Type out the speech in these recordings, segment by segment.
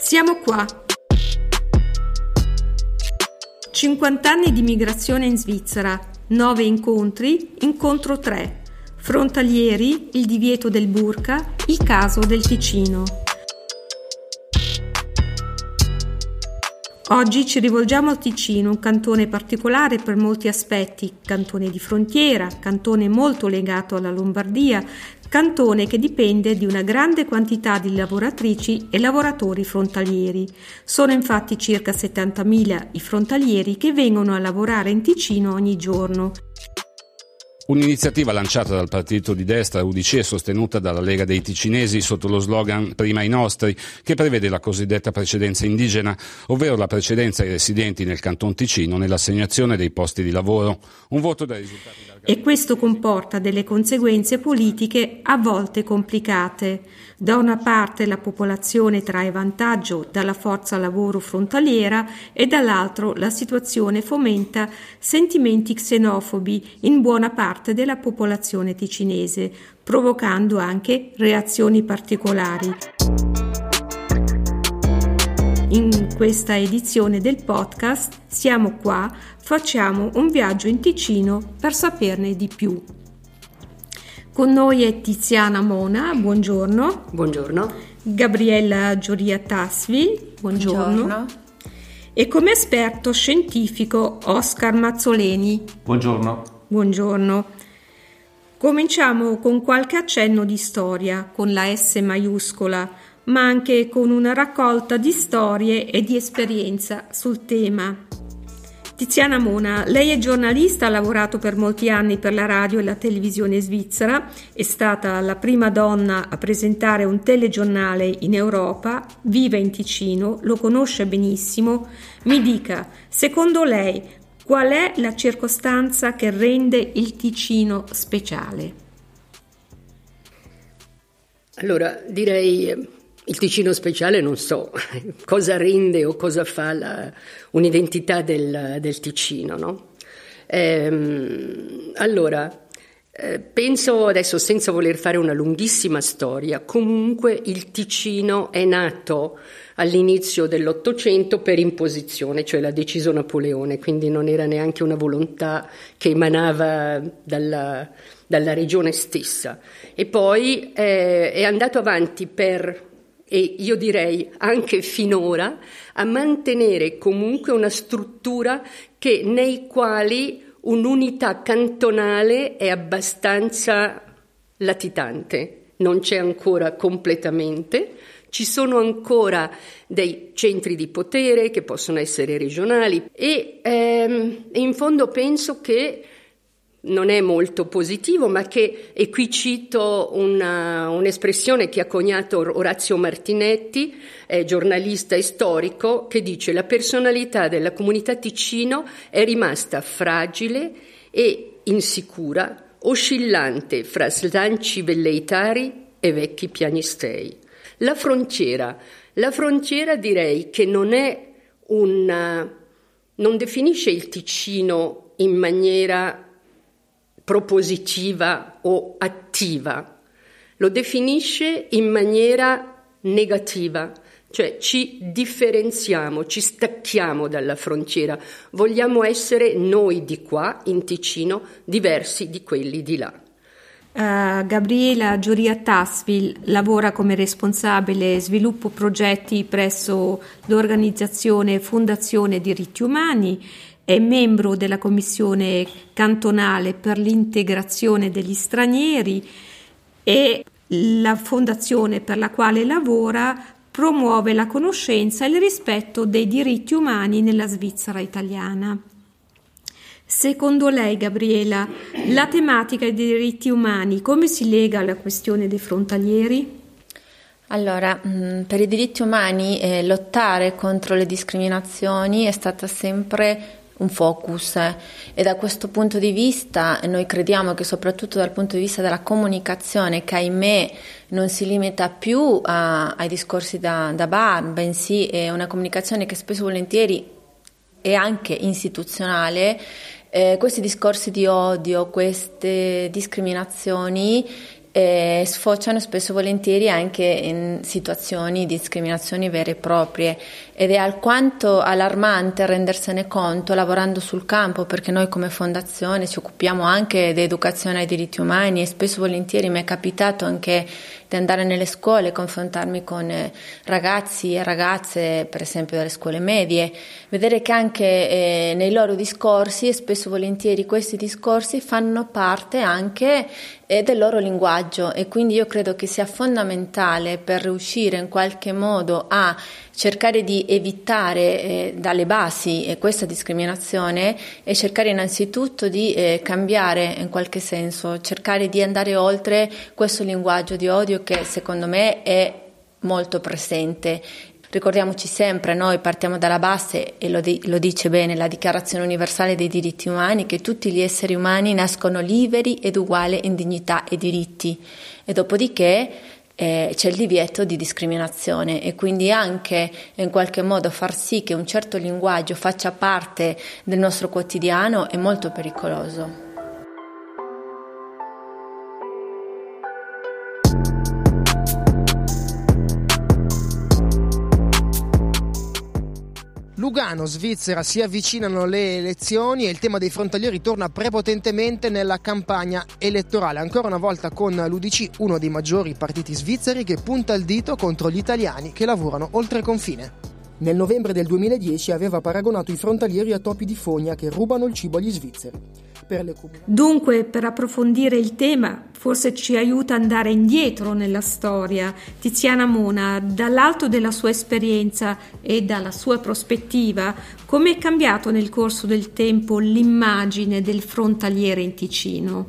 Siamo qua. 50 anni di migrazione in Svizzera, 9 incontri, incontro 3. Frontalieri, il divieto del burqa, il caso del Ticino. Oggi ci rivolgiamo al Ticino, un cantone particolare per molti aspetti, cantone di frontiera, cantone molto legato alla Lombardia, cantone che dipende di una grande quantità di lavoratrici e lavoratori frontalieri. Sono infatti circa 70.000 i frontalieri che vengono a lavorare in Ticino ogni giorno. Un'iniziativa lanciata dal partito di destra UDC e sostenuta dalla Lega dei Ticinesi sotto lo slogan Prima i nostri, che prevede la cosiddetta precedenza indigena, ovvero la precedenza ai residenti nel Canton Ticino nell'assegnazione dei posti di lavoro. Un voto dai risultati e questo comporta delle conseguenze politiche a volte complicate. Da una parte la popolazione trae vantaggio dalla forza lavoro frontaliera e dall'altro la situazione fomenta sentimenti xenofobi in buona parte della popolazione ticinese, provocando anche reazioni particolari. In questa edizione del podcast Siamo qua, facciamo un viaggio in Ticino per saperne di più. Con noi è Tiziana Mona, buongiorno. Buongiorno. Gabriella Giuria-Tasvi, buongiorno. E come esperto scientifico Oscar Mazzoleni. Buongiorno. Buongiorno. Cominciamo con qualche accenno di storia, con la S maiuscola, ma anche con una raccolta di storie e di esperienza sul tema. Tiziana Mona, lei è giornalista, ha lavorato per molti anni per la radio e la televisione svizzera, è stata la prima donna a presentare un telegiornale in Europa, vive in Ticino, lo conosce benissimo. Mi dica, secondo lei, qual è la circostanza che rende il Ticino speciale? Allora, direi il Ticino speciale non so cosa rende o cosa fa un'identità del Ticino, no? Penso adesso, senza voler fare una lunghissima storia, comunque il Ticino è nato all'inizio dell'Ottocento per imposizione, cioè l'ha deciso Napoleone, quindi non era neanche una volontà che emanava dalla regione stessa. E poi è andato avanti e io direi anche finora, a mantenere comunque una struttura nei quali un'unità cantonale è abbastanza latitante, non c'è ancora completamente, ci sono ancora dei centri di potere che possono essere regionali e in fondo penso che non è molto positivo, ma e qui cito un'espressione che ha coniato Orazio Martinetti, giornalista e storico, che dice: la personalità della comunità Ticino è rimasta fragile e insicura, oscillante fra slanci velleitari e vecchi piagnistei. La frontiera direi che non definisce il Ticino in maniera propositiva o attiva, lo definisce in maniera negativa, cioè ci differenziamo, ci stacchiamo dalla frontiera, vogliamo essere noi di qua in Ticino diversi di quelli di là. Gabriella Giuria-Tasvi lavora come responsabile sviluppo progetti presso l'organizzazione Fondazione Diritti Umani, è membro della Commissione cantonale per l'integrazione degli stranieri e la fondazione per la quale lavora promuove la conoscenza e il rispetto dei diritti umani nella Svizzera italiana. Secondo lei, Gabriela, la tematica dei diritti umani come si lega alla questione dei frontalieri? Allora, per i diritti umani lottare contro le discriminazioni è stata sempre un focus e da questo punto di vista noi crediamo che soprattutto dal punto di vista della comunicazione, che ahimè non si limita più ai discorsi da bar, bensì è una comunicazione che spesso e volentieri è anche istituzionale, questi discorsi di odio, queste discriminazioni sfociano spesso volentieri anche in situazioni di discriminazioni vere e proprie, ed è alquanto allarmante rendersene conto lavorando sul campo, perché noi come fondazione ci occupiamo anche di educazione ai diritti umani, e spesso volentieri mi è capitato anche di andare nelle scuole, confrontarmi con ragazzi e ragazze, per esempio delle scuole medie, vedere che anche nei loro discorsi, e spesso volentieri questi discorsi fanno parte anche del loro linguaggio, e quindi io credo che sia fondamentale per riuscire in qualche modo a cercare di evitare dalle basi questa discriminazione, e cercare innanzitutto di cambiare in qualche senso, cercare di andare oltre questo linguaggio di odio che secondo me è molto presente. Ricordiamoci sempre, noi partiamo dalla base, e lo dice bene la Dichiarazione Universale dei Diritti Umani, che tutti gli esseri umani nascono liberi ed uguali in dignità e diritti, e dopodiché c'è il divieto di discriminazione, e quindi anche in qualche modo far sì che un certo linguaggio faccia parte del nostro quotidiano è molto pericoloso. Lugano, Svizzera, si avvicinano le elezioni e il tema dei frontalieri torna prepotentemente nella campagna elettorale, ancora una volta con l'UDC, uno dei maggiori partiti svizzeri, che punta il dito contro gli italiani che lavorano oltre confine. Nel novembre del 2010 aveva paragonato i frontalieri a topi di fogna che rubano il cibo agli svizzeri. Dunque, per approfondire il tema, forse ci aiuta ad andare indietro nella storia. Tiziana Mona, dall'alto della sua esperienza e dalla sua prospettiva, come è cambiato nel corso del tempo l'immagine del frontaliere in Ticino?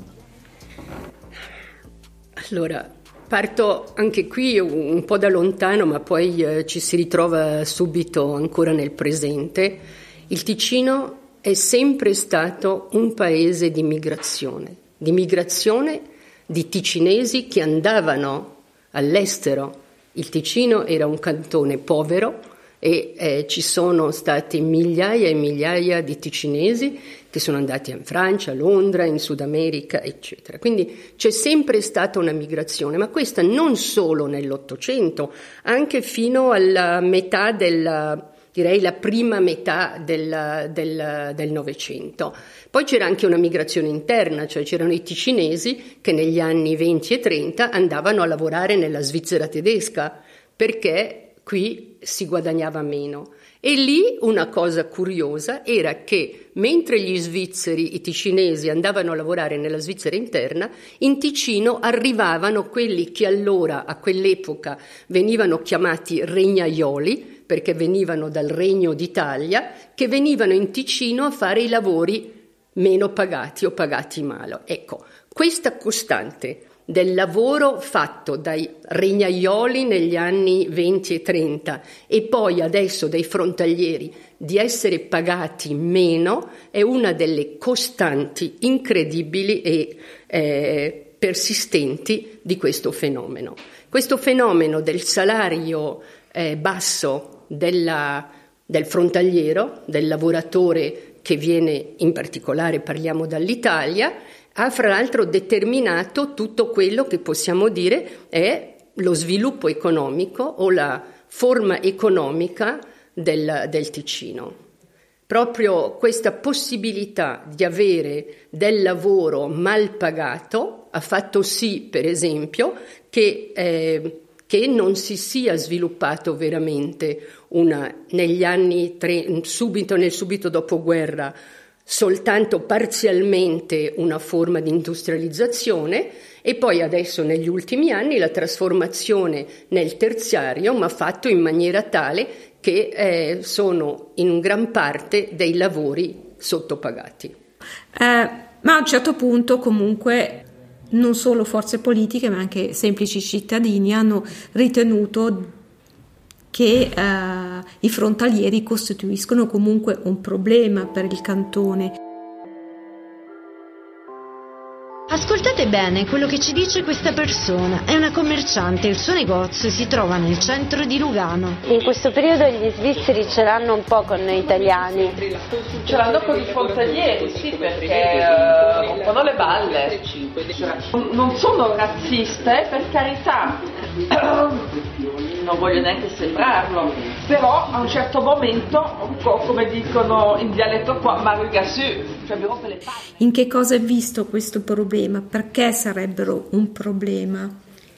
Allora, parto anche qui un po' da lontano, ma poi ci si ritrova subito ancora nel presente. Il Ticino è sempre stato un paese di migrazione di ticinesi che andavano all'estero. Il Ticino era un cantone povero e ci sono stati migliaia e migliaia di ticinesi che sono andati in Francia, a Londra, in Sud America, eccetera. Quindi c'è sempre stata una migrazione, ma questa non solo nell'Ottocento, anche fino alla metà la prima metà del Novecento. Poi c'era anche una migrazione interna, cioè c'erano i ticinesi che negli anni 20 e 30 andavano a lavorare nella Svizzera tedesca, perché qui si guadagnava meno. E lì una cosa curiosa era che mentre gli svizzeri, i ticinesi, andavano a lavorare nella Svizzera interna, in Ticino arrivavano quelli che allora, a quell'epoca, venivano chiamati regnaioli, perché venivano dal Regno d'Italia, che venivano in Ticino a fare i lavori meno pagati o pagati male. Ecco, questa costante del lavoro fatto dai regnaioli negli anni 20 e 30 e poi adesso dai frontalieri di essere pagati meno è una delle costanti incredibili e persistenti di questo fenomeno. Questo fenomeno del salario basso del frontaliero, del lavoratore che viene, in particolare parliamo dall'Italia, ha fra l'altro determinato tutto quello che possiamo dire è lo sviluppo economico o la forma economica del Ticino. Proprio questa possibilità di avere del lavoro mal pagato ha fatto sì, per esempio, che non si sia sviluppato veramente negli anni nel subito dopoguerra soltanto parzialmente una forma di industrializzazione e poi adesso negli ultimi anni la trasformazione nel terziario, ma fatto in maniera tale che sono in gran parte dei lavori sottopagati. Ma a un certo punto comunque non solo forze politiche ma anche semplici cittadini hanno ritenuto che i frontalieri costituiscono comunque un problema per il cantone. Ascoltate bene quello che ci dice questa persona. È una commerciante, il suo negozio si trova nel centro di Lugano. In questo periodo gli svizzeri ce l'hanno un po' con noi italiani. Ce l'hanno con i frontalieri, sì, perché rompono le balle. Non sono razziste, per carità, non voglio neanche sembrarlo, però a un certo momento, un po' come dicono in dialetto qua, mariga su, cioè mi rompe le palle. In che cosa è visto questo problema? Perché sarebbero un problema?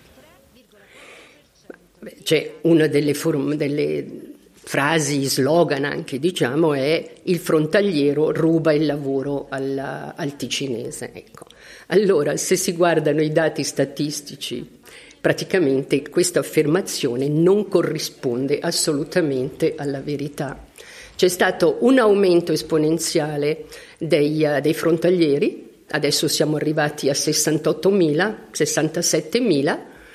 C'è una delle frasi, slogan anche, diciamo, è il frontaliero ruba il lavoro al ticinese. Ecco. Allora, se si guardano i dati statistici, praticamente questa affermazione non corrisponde assolutamente alla verità. C'è stato un aumento esponenziale dei frontalieri, adesso siamo arrivati a 68.000, 67.000,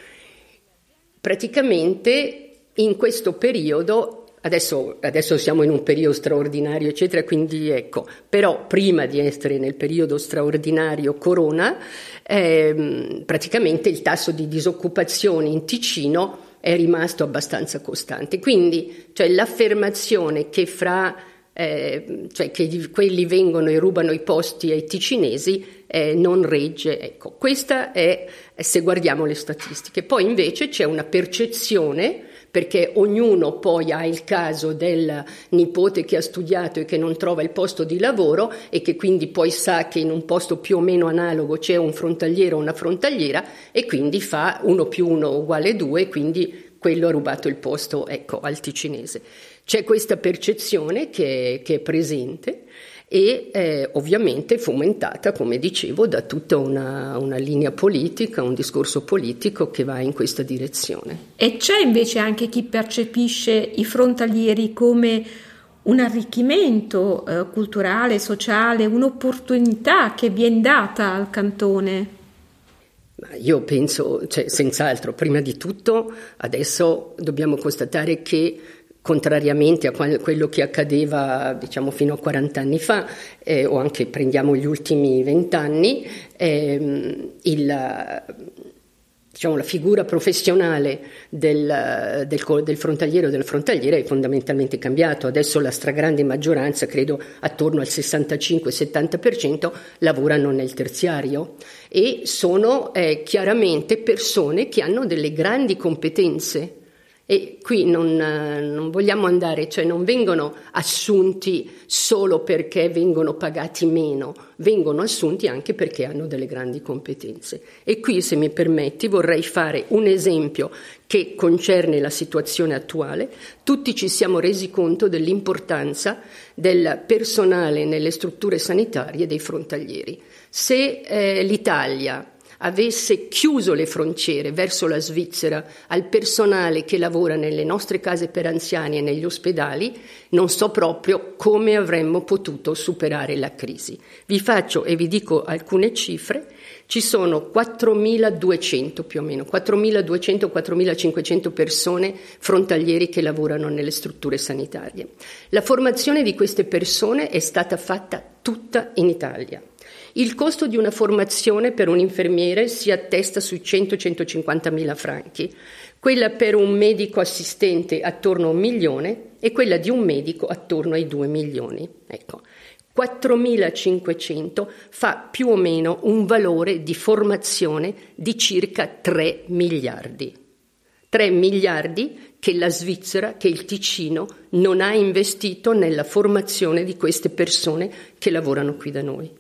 praticamente in questo periodo. Adesso siamo in un periodo straordinario, eccetera, quindi ecco, però prima di essere nel periodo straordinario Corona, praticamente il tasso di disoccupazione in Ticino è rimasto abbastanza costante. Quindi, cioè, l'affermazione che che quelli vengono e rubano i posti ai ticinesi non regge. Ecco, questa è se guardiamo le statistiche. Poi invece c'è una percezione, perché ognuno poi ha il caso del nipote che ha studiato e che non trova il posto di lavoro e che quindi poi sa che in un posto più o meno analogo c'è un frontaliero o una frontaliera e quindi fa 1 + 1 = 2, quindi quello ha rubato il posto, ecco, al ticinese. C'è questa percezione che è presente e ovviamente fomentata, come dicevo, da tutta una linea politica, un discorso politico che va in questa direzione. E c'è invece anche chi percepisce i frontalieri come un arricchimento culturale, sociale, un'opportunità che viene data al cantone. Io penso, senz'altro, prima di tutto adesso dobbiamo constatare che contrariamente a quello che accadeva, diciamo, fino a 40 anni fa, o anche prendiamo gli ultimi 20 anni, la figura professionale del frontaliero o della frontaliera è fondamentalmente cambiato. Adesso la stragrande maggioranza, credo attorno al 65-70%, lavorano nel terziario e sono chiaramente persone che hanno delle grandi competenze. E qui non vogliamo andare, cioè non vengono assunti solo perché vengono pagati meno, vengono assunti anche perché hanno delle grandi competenze. E qui, se mi permetti, vorrei fare un esempio che concerne la situazione attuale. Tutti ci siamo resi conto dell'importanza del personale nelle strutture sanitarie dei frontalieri. Se l'Italia avesse chiuso le frontiere verso la Svizzera al personale che lavora nelle nostre case per anziani e negli ospedali, non so proprio come avremmo potuto superare la crisi. Vi faccio e vi dico alcune cifre. Ci sono 4.200 più o meno, 4.200-4.500 persone frontalieri che lavorano nelle strutture sanitarie. La formazione di queste persone è stata fatta tutta in Italia. Il costo di una formazione per un infermiere si attesta sui 100-150.000 franchi, quella per un medico assistente attorno a 1 milione e quella di un medico attorno ai 2 milioni. Ecco, 4.500 fa più o meno un valore di formazione di circa 3 miliardi. 3 miliardi che la Svizzera, che il Ticino non ha investito nella formazione di queste persone che lavorano qui da noi.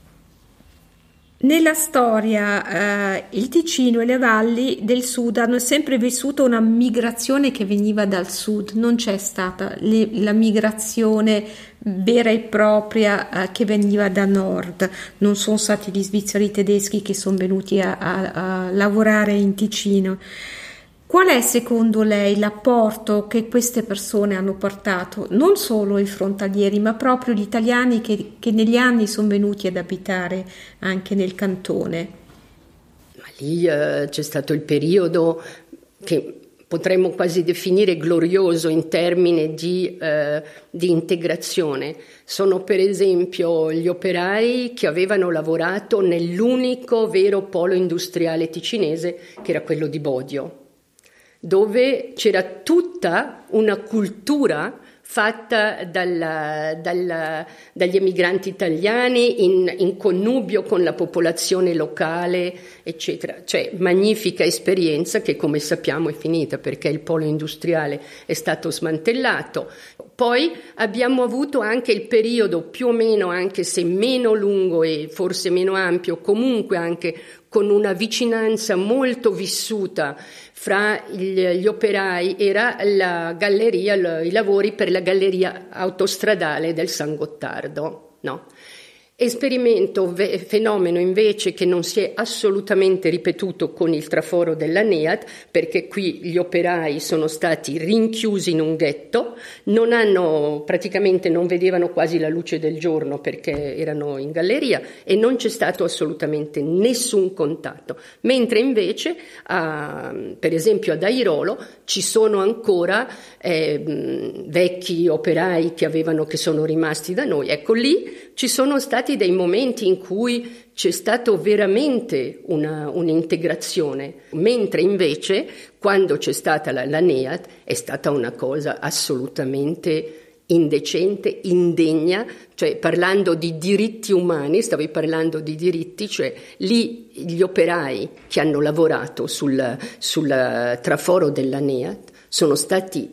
Nella storia il Ticino e le valli del sud hanno sempre vissuto una migrazione che veniva dal sud, non c'è stata la migrazione vera e propria che veniva da nord, non sono stati gli svizzeri tedeschi che sono venuti a lavorare in Ticino. Qual è secondo lei l'apporto che queste persone hanno portato, non solo i frontalieri, ma proprio gli italiani che negli anni sono venuti ad abitare anche nel cantone? Ma lì c'è stato il periodo che potremmo quasi definire glorioso in termini di integrazione. Sono per esempio gli operai che avevano lavorato nell'unico vero polo industriale ticinese, che era quello di Bodio, dove c'era tutta una cultura fatta dagli emigranti italiani in connubio con la popolazione locale, eccetera. Cioè, magnifica esperienza che, come sappiamo, è finita perché il polo industriale è stato smantellato. Poi abbiamo avuto anche il periodo più o meno, anche se meno lungo e forse meno ampio, comunque anche con una vicinanza molto vissuta fra gli operai, era la galleria, i lavori per la galleria autostradale del San Gottardo, no? Fenomeno invece che non si è assolutamente ripetuto con il traforo della NEAT, perché qui gli operai sono stati rinchiusi in un ghetto, praticamente non vedevano quasi la luce del giorno perché erano in galleria e non c'è stato assolutamente nessun contatto, mentre invece per esempio ad Airolo ci sono ancora vecchi operai che sono rimasti da noi. Ecco, lì ci sono stati dei momenti in cui c'è stato veramente un'integrazione, mentre invece quando c'è stata la NEAT è stata una cosa assolutamente indecente, indegna, cioè parlando di diritti umani, stavi parlando di diritti, cioè lì gli operai che hanno lavorato sul traforo della NEAT sono stati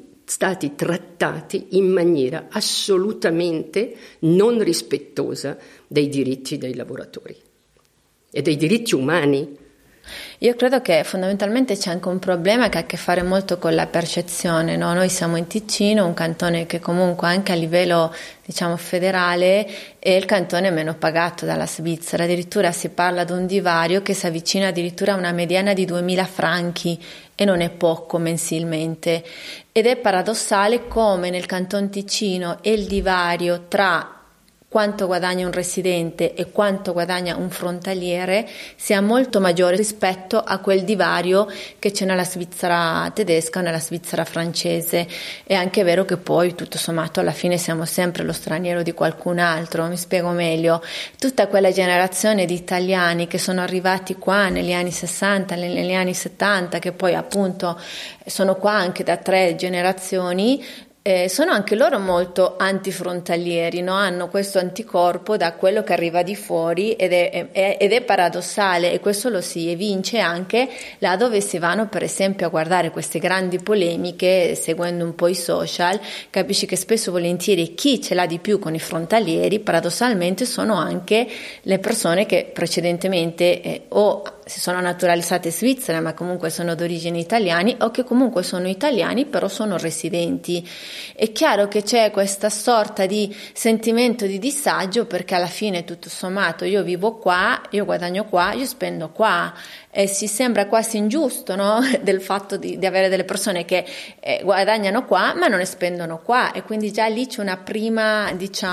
trattati in maniera assolutamente non rispettosa dei diritti dei lavoratori e dei diritti umani. Io credo che fondamentalmente c'è anche un problema che ha a che fare molto con la percezione, no? Noi siamo in Ticino, un cantone che comunque anche a livello federale è il cantone meno pagato dalla Svizzera, addirittura si parla di un divario che si avvicina addirittura a una mediana di 2.000 franchi e non è poco mensilmente, ed è paradossale come nel Canton Ticino il divario tra quanto guadagna un residente e quanto guadagna un frontaliere sia molto maggiore rispetto a quel divario che c'è nella Svizzera tedesca o nella Svizzera francese. È anche vero che poi tutto sommato alla fine siamo sempre lo straniero di qualcun altro. Mi spiego meglio: tutta quella generazione di italiani che sono arrivati qua negli anni 60, negli anni 70, che poi appunto sono qua anche da 3 generazioni, sono anche loro molto antifrontalieri, no? Hanno questo anticorpo da quello che arriva di fuori ed è paradossale, e questo lo si evince anche là dove si vanno per esempio a guardare queste grandi polemiche, seguendo un po' i social, capisci che spesso volentieri chi ce l'ha di più con i frontalieri paradossalmente sono anche le persone che precedentemente o si sono naturalizzate svizzere ma comunque sono d'origine italiani, o che comunque sono italiani però sono residenti. È chiaro che c'è questa sorta di sentimento di disagio, perché alla fine tutto sommato io vivo qua, io guadagno qua, io spendo qua, e si sembra quasi ingiusto, no? Del fatto di avere delle persone che guadagnano qua ma non ne spendono qua, e quindi già lì c'è una prima,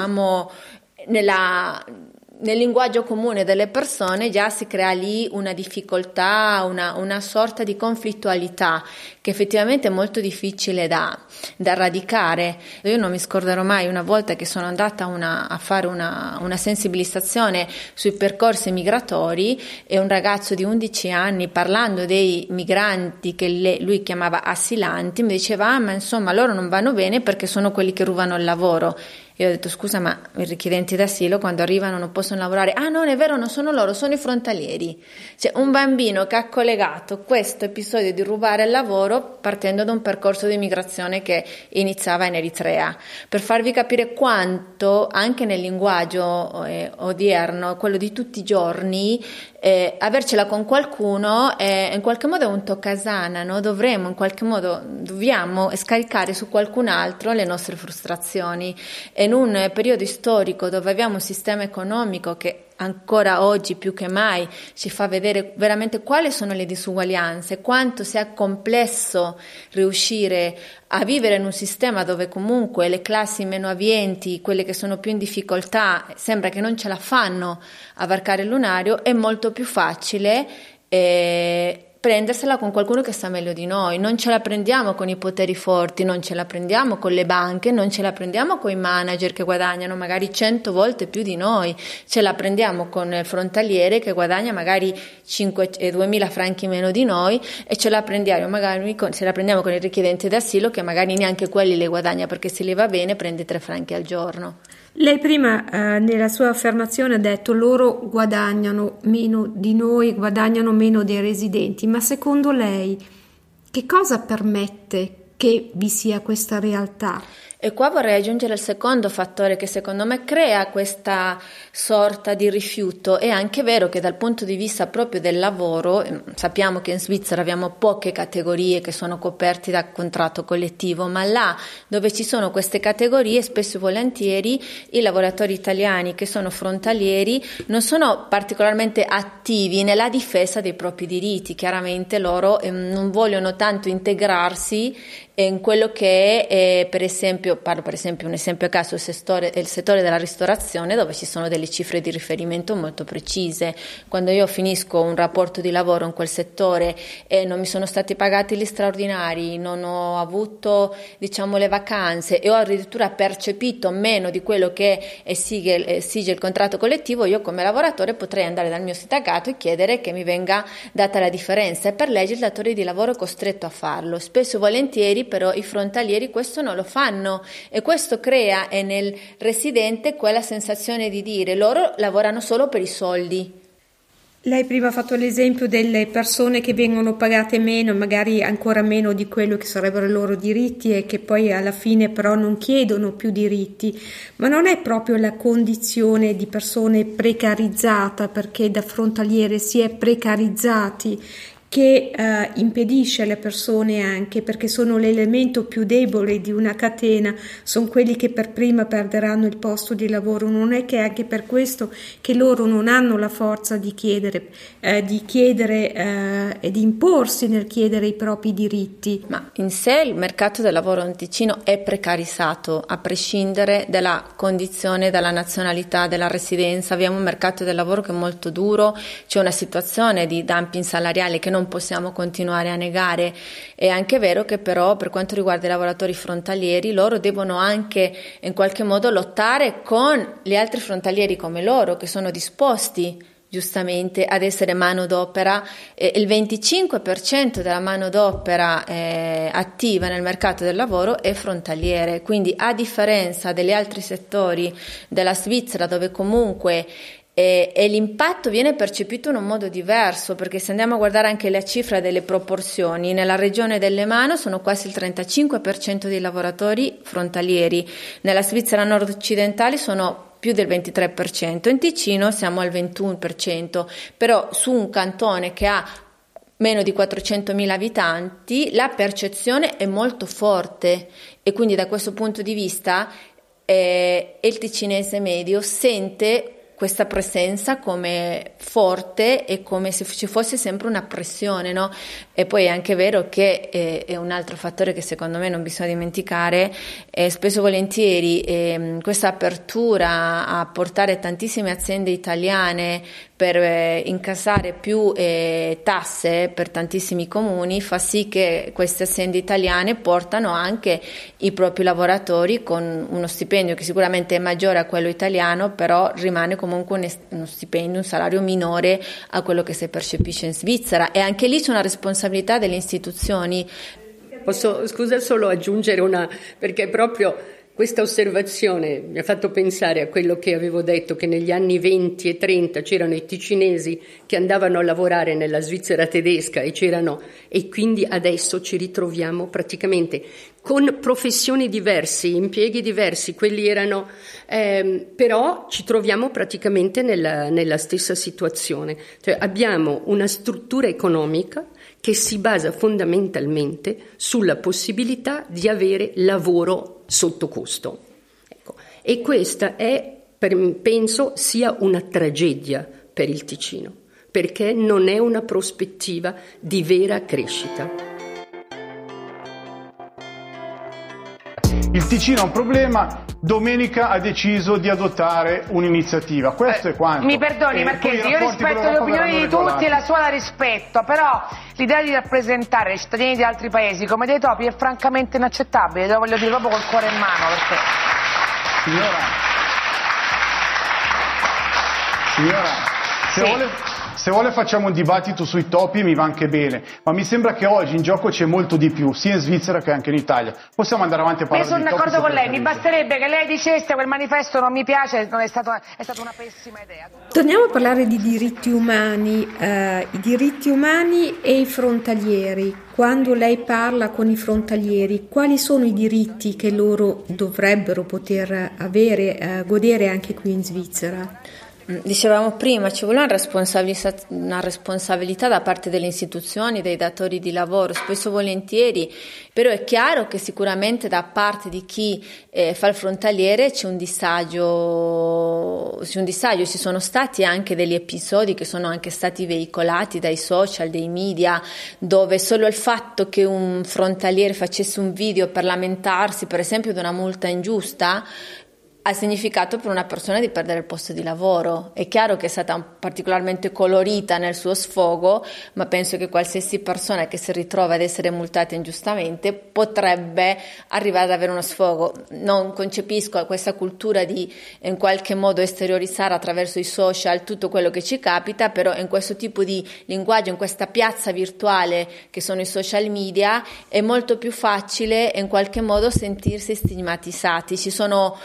nel linguaggio comune delle persone già si crea lì una difficoltà, una sorta di conflittualità che effettivamente è molto difficile da radicare. Io non mi scorderò mai una volta che sono andata a fare una sensibilizzazione sui percorsi migratori, e un ragazzo di 11 anni, parlando dei migranti che lui chiamava assilanti, mi diceva ma insomma loro non vanno bene perché sono quelli che rubano il lavoro. Io ho detto scusa, ma i richiedenti d'asilo quando arrivano non possono lavorare? Ah, non è vero, non sono loro, sono i frontalieri. Cioè un bambino che ha collegato questo episodio di rubare il lavoro partendo da un percorso di migrazione che iniziava in Eritrea, per farvi capire quanto anche nel linguaggio odierno, quello di tutti i giorni, avercela con qualcuno in qualche modo è un toccasana, no? Dobbiamo scaricare su qualcun altro le nostre frustrazioni. In un periodo storico dove abbiamo un sistema economico che ancora oggi più che mai ci fa vedere veramente quali sono le disuguaglianze, quanto sia complesso riuscire a vivere in un sistema dove comunque le classi meno abbienti, quelle che sono più in difficoltà, sembra che non ce la fanno a varcare il lunario, è molto più facile prendersela con qualcuno che sta meglio di noi. Non ce la prendiamo con i poteri forti, non ce la prendiamo con le banche, non ce la prendiamo con i manager che guadagnano magari 100 volte più di noi, ce la prendiamo con il frontaliere che guadagna magari 2.000 franchi meno di noi, e ce la prendiamo magari se la prendiamo con il richiedente d'asilo che magari neanche quelli le guadagna, perché se le va bene prende 3 franchi al giorno. Lei prima nella sua affermazione ha detto loro guadagnano meno di noi, guadagnano meno dei residenti, ma secondo lei che cosa permette che vi sia questa realtà? E qua vorrei aggiungere il secondo fattore che secondo me crea questa sorta di rifiuto. È anche vero che dal punto di vista proprio del lavoro, sappiamo che in Svizzera abbiamo poche categorie che sono coperte da contratto collettivo, ma là dove ci sono queste categorie spesso e volentieri i lavoratori italiani che sono frontalieri non sono particolarmente attivi nella difesa dei propri diritti. Chiaramente loro non vogliono tanto integrarsi in quello che è per esempio un esempio a caso, il settore della ristorazione, dove ci sono delle cifre di riferimento molto precise. Quando io finisco un rapporto di lavoro in quel settore e non mi sono stati pagati gli straordinari, non ho avuto le vacanze e ho addirittura percepito meno di quello che esige il contratto collettivo, io come lavoratore potrei andare dal mio sindacato e chiedere che mi venga data la differenza, e per legge il datore di lavoro è costretto a farlo. Spesso e volentieri però i frontalieri questo non lo fanno, e questo crea nel residente quella sensazione di dire loro lavorano solo per i soldi. Lei prima ha fatto l'esempio delle persone che vengono pagate meno, magari ancora meno di quello che sarebbero i loro diritti, e che poi alla fine però non chiedono più diritti, ma non è proprio la condizione di persone precarizzata, perché da frontaliere si è precarizzati, che impedisce alle persone, anche perché sono l'elemento più debole di una catena, sono quelli che per prima perderanno il posto di lavoro. Non è che è anche per questo che loro non hanno la forza di chiedere e di imporsi nel chiedere i propri diritti. Ma in sé il mercato del lavoro in Ticino è precarizzato, a prescindere dalla condizione, dalla nazionalità, della residenza. Abbiamo un mercato del lavoro che è molto duro, c'è una situazione di dumping salariale che non possiamo continuare a negare. È anche vero che però per quanto riguarda i lavoratori frontalieri, loro devono anche in qualche modo lottare con gli altri frontalieri come loro, che sono disposti giustamente ad essere manodopera. Il 25% della manodopera attiva nel mercato del lavoro è frontaliere, quindi a differenza degli altri settori della Svizzera, dove comunque e l'impatto viene percepito in un modo diverso, perché se andiamo a guardare anche la cifra delle proporzioni, nella regione dell'Emano sono quasi il 35% dei lavoratori frontalieri, nella Svizzera nord-occidentale sono più del 23%, in Ticino siamo al 21%, però su un cantone che ha meno di 400.000 abitanti la percezione è molto forte, e quindi da questo punto di vista il ticinese medio sente questa presenza come forte e come se ci fosse sempre una pressione, no? E poi è anche vero che è un altro fattore che secondo me non bisogna dimenticare, spesso e volentieri questa apertura a portare tantissime aziende italiane per incassare più tasse per tantissimi comuni fa sì che queste aziende italiane portano anche i propri lavoratori con uno stipendio che sicuramente è maggiore a quello italiano, però rimane comunque uno stipendio, un salario minore a quello che si percepisce in Svizzera, e anche lì c'è una responsabilità delle istituzioni. Posso, scusa, solo aggiungere perché proprio questa osservazione mi ha fatto pensare a quello che avevo detto, che negli anni 20 e 30 c'erano i ticinesi che andavano a lavorare nella Svizzera tedesca e quindi adesso ci ritroviamo praticamente con professioni diverse, impieghi diversi, quelli erano, però ci troviamo praticamente nella stessa situazione. Cioè abbiamo una struttura economica che si basa fondamentalmente sulla possibilità di avere lavoro sotto costo. Ecco. E questa penso sia una tragedia per il Ticino, perché non è una prospettiva di vera crescita. Il Il Ticino ha un problema, Domenica ha deciso di adottare un'iniziativa. Questo è quanto. Mi perdoni Marchesi, io rispetto le opinioni di tutti e la sua la rispetto, però l'idea di rappresentare i cittadini di altri paesi come dei topi è francamente inaccettabile, lo voglio dire proprio col cuore in mano. Perché... Signora, se vuole facciamo un dibattito sui topi e mi va anche bene, ma mi sembra che oggi in gioco c'è molto di più, sia in Svizzera che anche in Italia. Possiamo andare avanti a parlare di topi? Io sono d'accordo con lei, mi basterebbe che lei dicesse quel manifesto non mi piace, è stata una pessima idea. Torniamo a parlare di diritti umani, i diritti umani e i frontalieri. Quando lei parla con i frontalieri, quali sono i diritti che loro dovrebbero poter avere, godere anche qui in Svizzera? Dicevamo prima, ci vuole una responsabilità da parte delle istituzioni, dei datori di lavoro, spesso volentieri, però è chiaro che sicuramente da parte di chi fa il frontaliere c'è un disagio, ci sono stati anche degli episodi che sono anche stati veicolati dai social, dai media, dove solo il fatto che un frontaliere facesse un video per lamentarsi, per esempio, di una multa ingiusta, ha significato per una persona di perdere il posto di lavoro. È chiaro che è stata particolarmente colorita nel suo sfogo, ma penso che qualsiasi persona che si ritrova ad essere multata ingiustamente potrebbe arrivare ad avere uno sfogo. Non concepisco questa cultura di in qualche modo esteriorizzare attraverso i social tutto quello che ci capita, però in questo tipo di linguaggio, in questa piazza virtuale che sono i social media, è molto più facile in qualche modo sentirsi stigmatizzati. Ci sono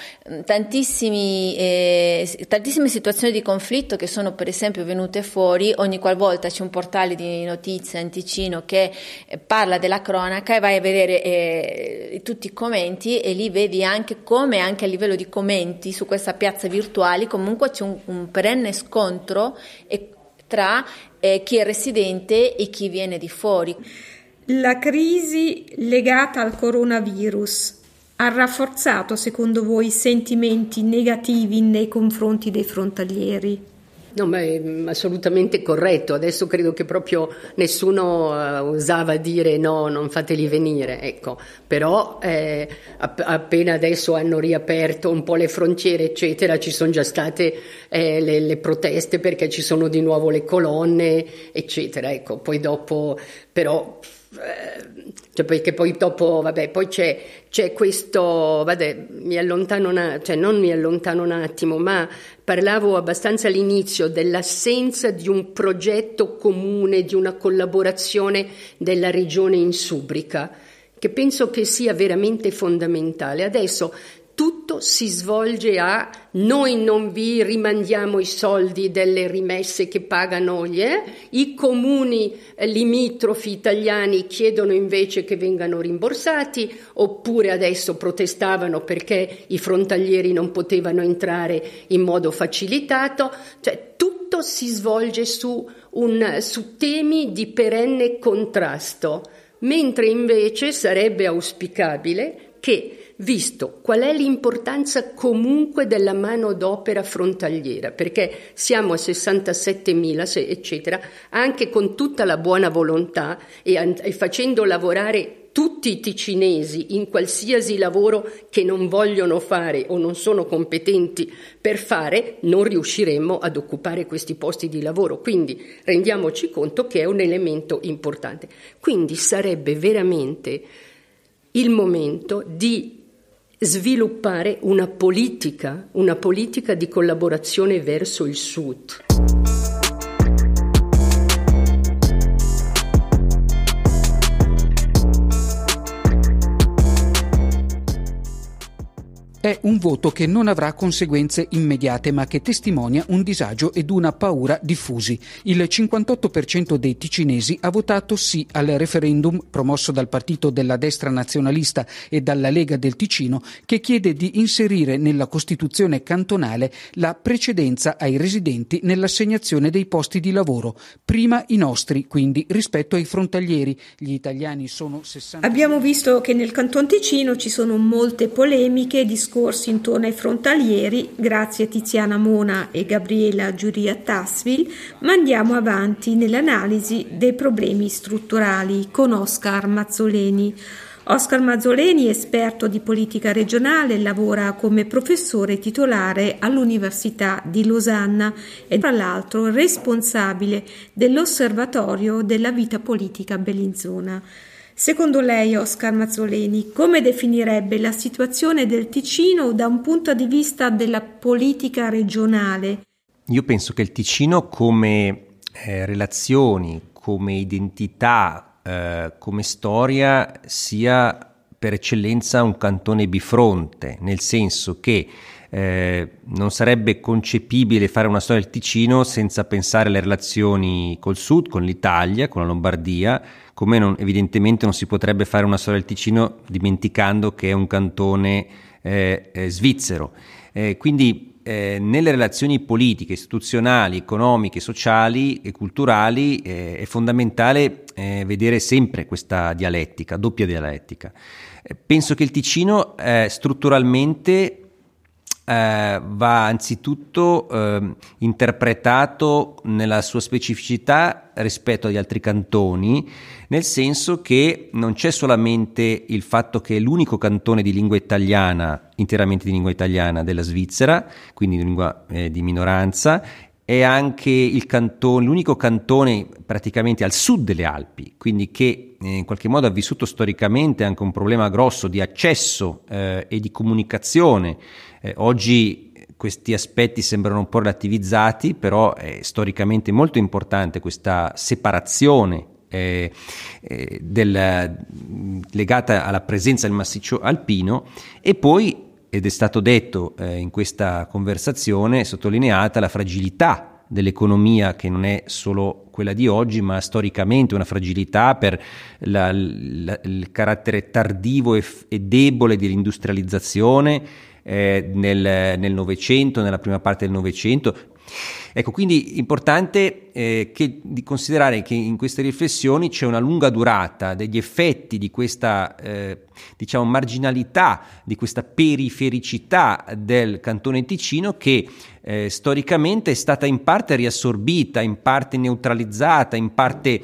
tantissime situazioni di conflitto che sono per esempio venute fuori ogni qualvolta c'è un portale di notizie in Ticino che parla della cronaca e vai a vedere tutti i commenti e lì vedi anche come anche a livello di commenti su questa piazza virtuale comunque c'è un perenne scontro tra chi è residente e chi viene di fuori. La crisi legata al coronavirus ha rafforzato, secondo voi, i sentimenti negativi nei confronti dei frontalieri? No, ma è assolutamente corretto. Adesso credo che proprio nessuno osava dire no, non fateli venire, ecco. Però appena adesso hanno riaperto un po' le frontiere, eccetera, ci sono già state le proteste perché ci sono di nuovo le colonne, eccetera. Ecco, poi dopo, però... perché poi dopo poi c'è questo mi allontano non mi allontano un attimo, ma parlavo abbastanza all'inizio dell'assenza di un progetto comune, di una collaborazione della regione in Subrica, che penso che sia veramente fondamentale. Adesso tutto si svolge a noi non vi rimandiamo i soldi delle rimesse che pagano i comuni limitrofi italiani chiedono invece che vengano rimborsati, oppure adesso protestavano perché i frontalieri non potevano entrare in modo facilitato, cioè tutto si svolge su temi di perenne contrasto, mentre invece sarebbe auspicabile che, visto qual è l'importanza comunque della manodopera frontaliera, perché siamo a 67.000, eccetera, anche con tutta la buona volontà e facendo lavorare tutti i ticinesi in qualsiasi lavoro che non vogliono fare o non sono competenti per fare, non riusciremo ad occupare questi posti di lavoro. Quindi rendiamoci conto che è un elemento importante. Quindi sarebbe veramente il momento di sviluppare una politica di collaborazione verso il sud. È un voto che non avrà conseguenze immediate, ma che testimonia un disagio ed una paura diffusi. Il 58% dei ticinesi ha votato sì al referendum promosso dal partito della destra nazionalista e dalla Lega del Ticino, che chiede di inserire nella Costituzione cantonale la precedenza ai residenti nell'assegnazione dei posti di lavoro. Prima i nostri, quindi, rispetto ai frontalieri. Gli italiani sono 60. Abbiamo visto che nel Canton Ticino ci sono molte polemiche, discorsi intorno ai frontalieri, grazie a Tiziana Mona e Gabriela Giuria-Tassvil, ma andiamo avanti nell'analisi dei problemi strutturali con Oscar Mazzoleni. Oscar Mazzoleni, esperto di politica regionale, lavora come professore titolare all'Università di Losanna e tra l'altro responsabile dell'Osservatorio della vita politica Bellinzona. Secondo lei, Oscar Mazzoleni, come definirebbe la situazione del Ticino da un punto di vista della politica regionale? Io penso che il Ticino come relazioni, come identità, come storia sia per eccellenza un cantone bifronte, nel senso che non sarebbe concepibile fare una storia del Ticino senza pensare alle relazioni col sud, con l'Italia, con la Lombardia, come evidentemente non si potrebbe fare una storia del Ticino dimenticando che è un cantone svizzero. Quindi nelle relazioni politiche, istituzionali, economiche, sociali e culturali è fondamentale vedere sempre questa dialettica, doppia dialettica. Penso che il Ticino strutturalmente va anzitutto interpretato nella sua specificità rispetto agli altri cantoni, nel senso che non c'è solamente il fatto che è l'unico cantone di lingua italiana, interamente di lingua italiana della Svizzera, quindi di lingua di minoranza, è anche l'unico cantone praticamente al sud delle Alpi, quindi che in qualche modo ha vissuto storicamente anche un problema grosso di accesso e di comunicazione. Oggi questi aspetti sembrano un po' relativizzati, però è storicamente molto importante questa separazione legata alla presenza del massiccio alpino, e poi, ed è stato detto in questa conversazione, sottolineata la fragilità dell'economia, che non è solo quella di oggi, ma storicamente una fragilità per il carattere tardivo e debole dell'industrializzazione nel Novecento, nella prima parte del Novecento. Ecco, quindi importante di considerare che in queste riflessioni c'è una lunga durata degli effetti di questa marginalità, di questa perifericità del cantone Ticino, che storicamente è stata in parte riassorbita, in parte neutralizzata, in parte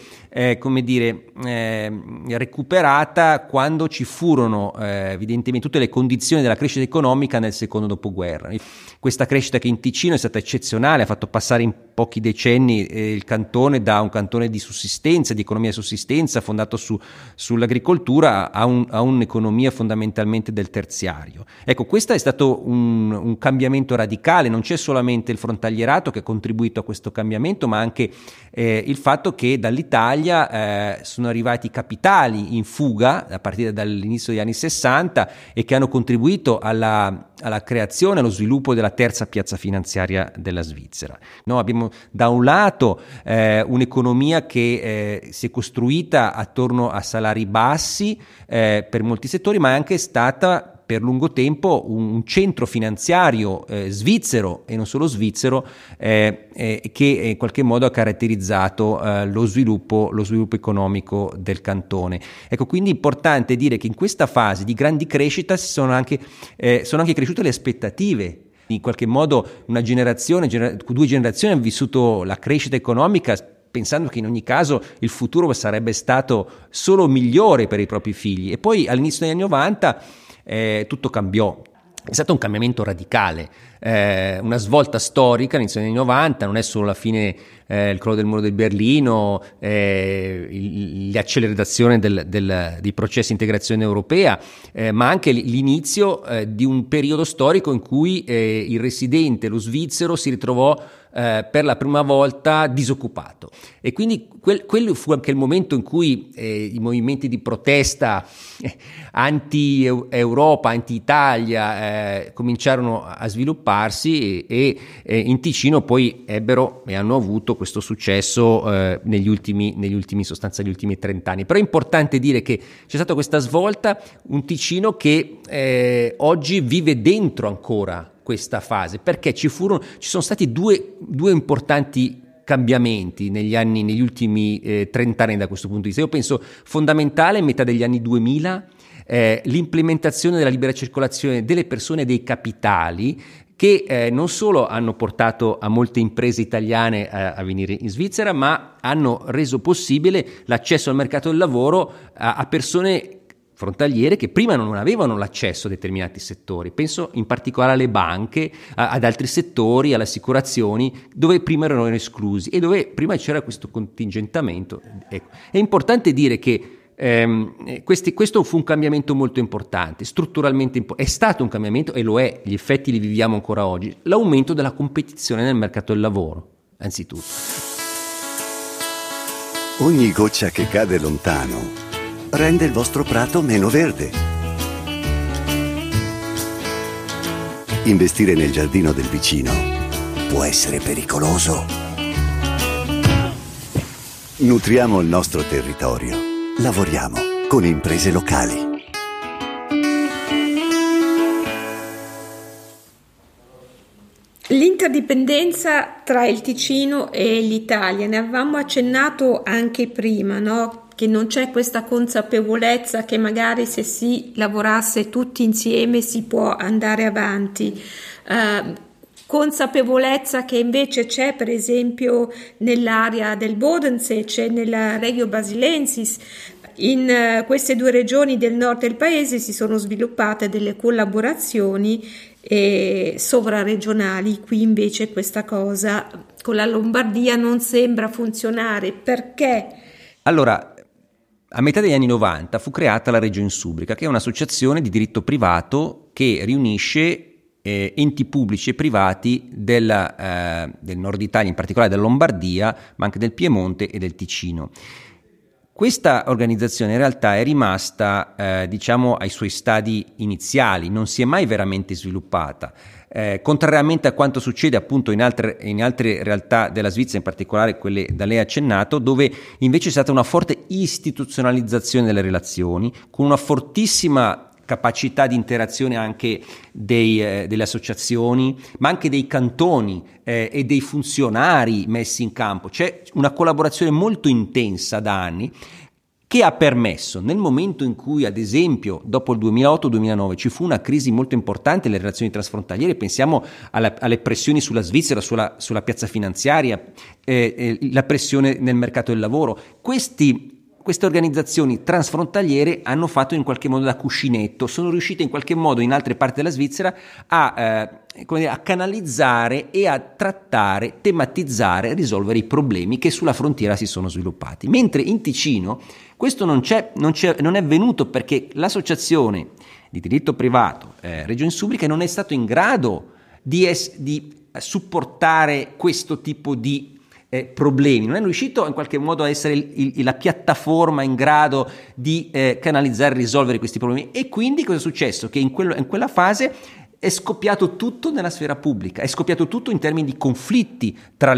recuperata quando ci furono evidentemente tutte le condizioni della crescita economica nel secondo dopoguerra. Questa crescita che in Ticino è stata eccezionale, ha fatto passare in pochi decenni il cantone da un cantone di sussistenza, di economia di sussistenza fondato sull'agricoltura a un'economia fondamentalmente del terziario. Ecco, questo è stato un cambiamento radicale. Non c'è solamente il frontalierato che ha contribuito a questo cambiamento, ma anche il fatto che dall'Italia sono arrivati capitali in fuga a partire dall'inizio degli anni 60 e che hanno contribuito alla creazione, allo sviluppo della terza piazza finanziaria della Svizzera. Noi abbiamo da un lato un'economia che si è costruita attorno a salari bassi per molti settori, ma è anche stata per lungo tempo un centro finanziario svizzero e non solo svizzero che in qualche modo ha caratterizzato lo sviluppo economico del cantone. Ecco, quindi è importante dire che in questa fase di grandi crescita sono anche cresciute le aspettative. In qualche modo due generazioni hanno vissuto la crescita economica pensando che in ogni caso il futuro sarebbe stato solo migliore per i propri figli, e poi all'inizio degli anni 90 tutto cambiò. È stato un cambiamento radicale, una svolta storica all'inizio degli anni 90, non è solo la fine, il crollo del muro di Berlino, l'accelerazione dei processi di integrazione europea, ma anche l'inizio di un periodo storico in cui il residente, lo svizzero, si ritrovò per la prima volta disoccupato, e quindi quello fu anche il momento in cui i movimenti di protesta anti-Europa, anti-Italia cominciarono a svilupparsi e in Ticino poi ebbero e hanno avuto questo successo negli ultimi 30 anni. Però è importante dire che c'è stata questa svolta, un Ticino che oggi vive dentro ancora questa fase, perché ci sono stati due importanti cambiamenti negli ultimi 30 anni da questo punto di vista. Io penso fondamentale, metà degli anni 2000, l'implementazione della libera circolazione delle persone e dei capitali, che non solo hanno portato a molte imprese italiane a venire in Svizzera, ma hanno reso possibile l'accesso al mercato del lavoro a persone frontaliere che prima non avevano l'accesso a determinati settori. Penso in particolare alle banche, ad altri settori, alle assicurazioni, dove prima erano esclusi e dove prima c'era questo contingentamento. Ecco. È importante dire che questo fu un cambiamento molto importante, strutturalmente è stato un cambiamento e lo è, gli effetti li viviamo ancora oggi, l'aumento della competizione nel mercato del lavoro, anzitutto. Ogni goccia che cade lontano rende il vostro prato meno verde. Investire nel giardino del vicino può essere pericoloso. Nutriamo il nostro territorio. Lavoriamo con imprese locali. L'interdipendenza tra il Ticino e l'Italia, ne avevamo accennato anche prima, no? Che non c'è questa consapevolezza che magari se si lavorasse tutti insieme si può andare avanti. Consapevolezza che invece c'è per esempio nell'area del Bodensee, c'è nella Regio Basilensis. In queste due regioni del nord del paese si sono sviluppate delle collaborazioni sovraregionali. Qui invece questa cosa con la Lombardia non sembra funzionare. Perché? Allora, a metà degli anni 90 fu creata la Regio Insubrica, che è un'associazione di diritto privato che riunisce enti pubblici e privati del nord Italia, in particolare della Lombardia, ma anche del Piemonte e del Ticino. Questa organizzazione in realtà è rimasta ai suoi stadi iniziali, non si è mai veramente sviluppata. Contrariamente a quanto succede appunto in altre realtà della Svizzera, in particolare quelle da lei accennato, dove invece è stata una forte istituzionalizzazione delle relazioni, con una fortissima capacità di interazione anche delle associazioni, ma anche dei cantoni e dei funzionari messi in campo. C'è una collaborazione molto intensa da anni, che ha permesso, nel momento in cui, ad esempio, dopo il 2008-2009 ci fu una crisi molto importante nelle relazioni transfrontaliere, pensiamo alle pressioni sulla Svizzera, sulla piazza finanziaria, la pressione nel mercato del lavoro. Queste organizzazioni transfrontaliere hanno fatto in qualche modo da cuscinetto, sono riuscite in qualche modo in altre parti della Svizzera a canalizzare e a trattare, tematizzare, risolvere i problemi che sulla frontiera si sono sviluppati. Mentre in Ticino questo non è venuto, perché l'associazione di diritto privato Regio Insubrica non è stato in grado di supportare questo tipo di problemi, non è riuscito in qualche modo a essere la piattaforma in grado di canalizzare e risolvere questi problemi. E quindi cosa è successo? Che in quella fase è scoppiato tutto nella sfera pubblica, è scoppiato tutto in termini di conflitti tra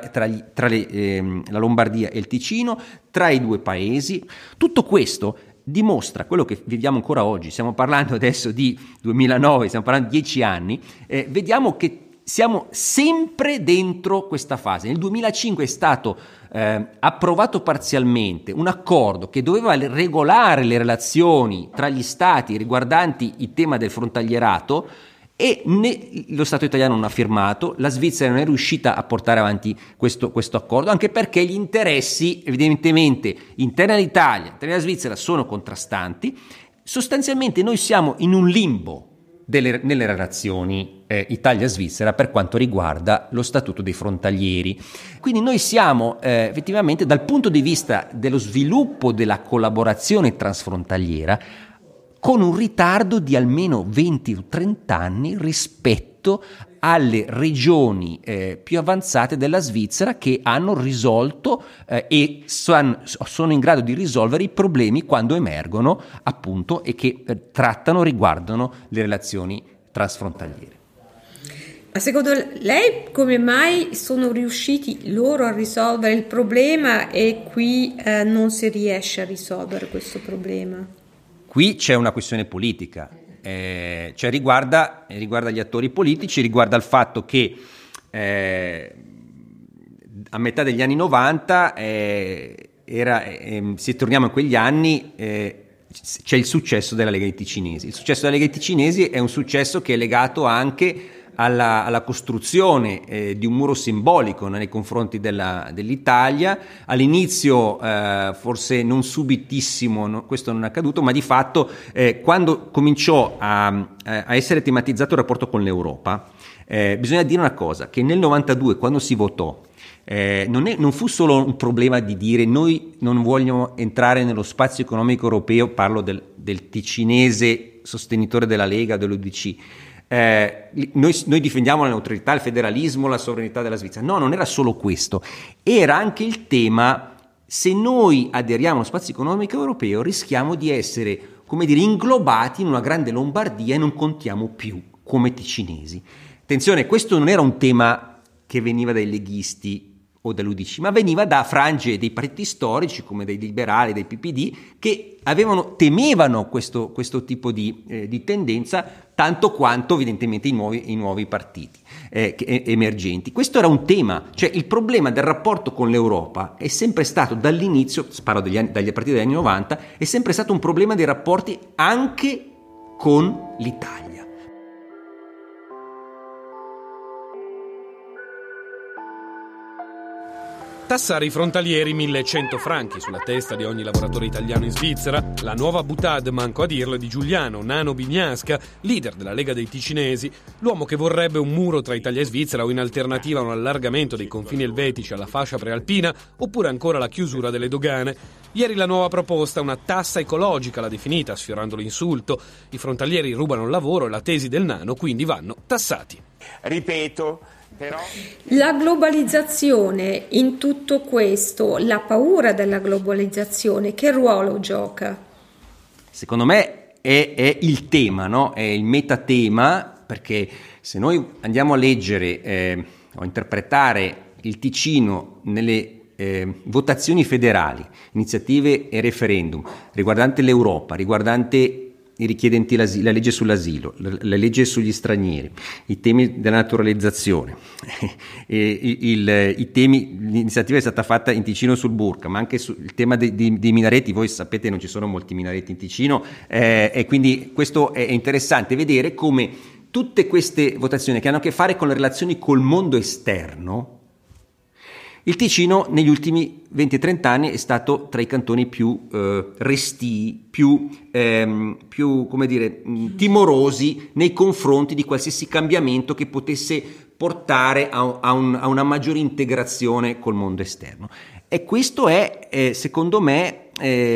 la Lombardia e il Ticino, tra i due paesi. Tutto questo dimostra quello che viviamo ancora oggi. Stiamo parlando adesso di 2009, stiamo parlando di 10 anni, vediamo che siamo sempre dentro questa fase. Nel 2005 è stato approvato parzialmente un accordo che doveva regolare le relazioni tra gli stati riguardanti il tema del frontalierato, e lo Stato italiano non ha firmato, la Svizzera non è riuscita a portare avanti questo accordo, anche perché gli interessi evidentemente interni all'Italia, interni alla Svizzera sono contrastanti. Sostanzialmente noi siamo in un limbo nelle relazioni Italia-Svizzera per quanto riguarda lo statuto dei frontalieri. Quindi noi siamo effettivamente, dal punto di vista dello sviluppo della collaborazione transfrontaliera, con un ritardo di almeno 20 o 30 anni rispetto alle regioni più avanzate della Svizzera, che hanno risolto e sono in grado di risolvere i problemi quando emergono, appunto, e che riguardano le relazioni transfrontaliere. Ma secondo lei come mai sono riusciti loro a risolvere il problema e qui non si riesce a risolvere questo problema? Qui c'è una questione politica. Riguarda gli attori politici, riguarda il fatto che a metà degli anni 90 se torniamo in quegli anni c'è il successo della Lega dei Ticinesi. Il successo della Lega dei Ticinesi è un successo che è legato anche alla costruzione di un muro simbolico nei confronti dell'Italia. All'inizio forse non subitissimo, questo non è accaduto, ma di fatto quando cominciò a essere tematizzato il rapporto con l'Europa, bisogna dire una cosa, che nel 92 quando si votò non fu solo un problema di dire noi non vogliamo entrare nello spazio economico europeo, parlo del ticinese sostenitore della Lega, dell'UDC, noi difendiamo la neutralità, il federalismo, la sovranità della Svizzera. No, non era solo questo, era anche il tema: se noi aderiamo allo spazio economico europeo rischiamo di essere, come dire, inglobati in una grande Lombardia e non contiamo più come ticinesi. Attenzione, questo non era un tema che veniva dai leghisti o dall'UDC, ma veniva da frange dei partiti storici come dei liberali, dei PPD, che temevano questo tipo di tendenza tanto quanto evidentemente i nuovi partiti emergenti. Questo era un tema, cioè il problema del rapporto con l'Europa è sempre stato dall'inizio, parlo dagli partiti degli anni 90, è sempre stato un problema dei rapporti anche con l'Italia. Tassare i frontalieri 1.100 franchi sulla testa di ogni lavoratore italiano in Svizzera, la nuova boutade, manco a dirlo, è di Giuliano Nano Bignasca, leader della Lega dei Ticinesi, l'uomo che vorrebbe un muro tra Italia e Svizzera o in alternativa un allargamento dei confini elvetici alla fascia prealpina oppure ancora la chiusura delle dogane. Ieri la nuova proposta, una tassa ecologica, l'ha definita, sfiorando l'insulto. I frontalieri rubano il lavoro e la tesi del Nano quindi vanno tassati. Ripeto, però... La globalizzazione in tutto questo, la paura della globalizzazione, che ruolo gioca? Secondo me è il tema, no? È il metatema, perché se noi andiamo a leggere o interpretare il Ticino nelle votazioni federali, iniziative e referendum riguardante l'Europa, riguardante i richiedenti l'asilo, la legge sull'asilo, la legge sugli stranieri, i temi della naturalizzazione, i temi, l'iniziativa è stata fatta in Ticino sul burka, ma anche sul tema dei minareti. Voi sapete non ci sono molti minareti in Ticino, e quindi questo è interessante vedere come tutte queste votazioni che hanno a che fare con le relazioni col mondo esterno, il Ticino negli ultimi 20-30 anni è stato tra i cantoni più restii, più come dire, timorosi nei confronti di qualsiasi cambiamento che potesse portare a una maggiore integrazione col mondo esterno. E questo è secondo me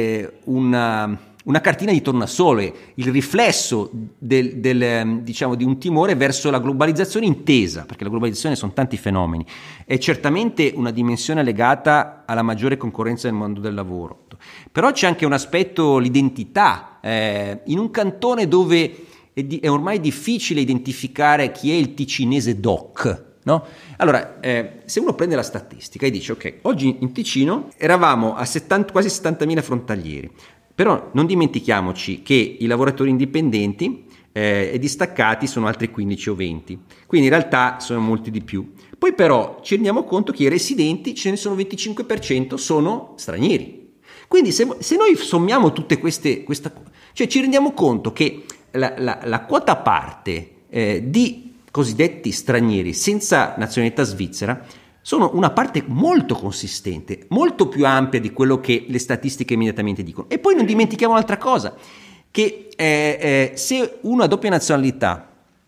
una cartina di tornasole, il riflesso diciamo di un timore verso la globalizzazione intesa, perché la globalizzazione sono tanti fenomeni, è certamente una dimensione legata alla maggiore concorrenza nel mondo del lavoro, però c'è anche un aspetto, l'identità, in un cantone dove è ormai difficile identificare chi è il ticinese doc, no? Allora, se uno prende la statistica e dice ok, oggi in Ticino eravamo a quasi 70.000 frontalieri, però non dimentichiamoci che i lavoratori indipendenti e distaccati sono altri 15 o 20, quindi in realtà sono molti di più. Poi però ci rendiamo conto che i residenti, ce ne sono 25% sono stranieri. Quindi se noi sommiamo tutte cioè ci rendiamo conto che la quota parte di cosiddetti stranieri senza nazionalità svizzera sono una parte molto consistente, molto più ampia di quello che le statistiche immediatamente dicono. E poi non dimentichiamo un'altra cosa, che se uno ha doppia nazionalità